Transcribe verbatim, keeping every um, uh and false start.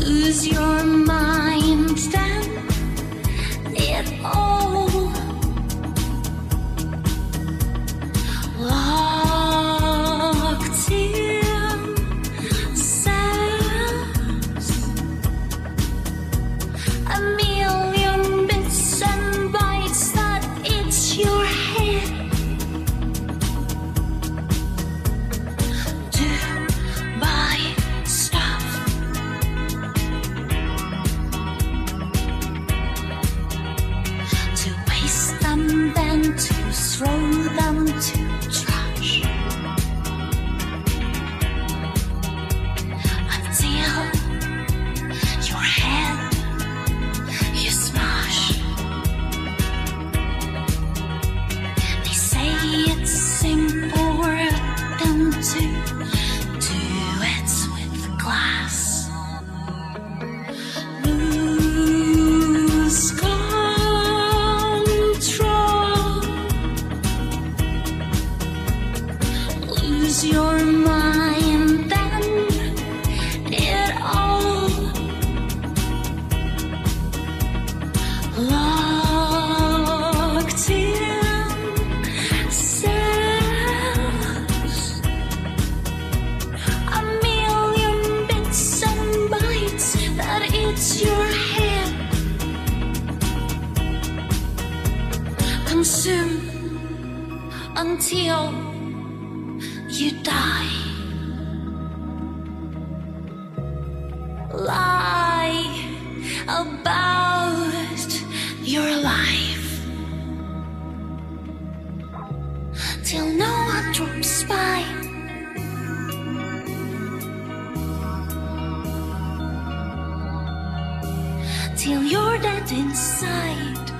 lose your mind, then it all locked in cells. A million bits and bytes that it's your head. To buy stuff, to waste them, then to throw them to trash, until your head you smash. They say it's simple than to do it with glass. Lose control, lose your mind, then it all locked in cells. A million bits and bytes that it's your head. Consume until you die. Lie about your life till no one drops by. Till you're dead inside.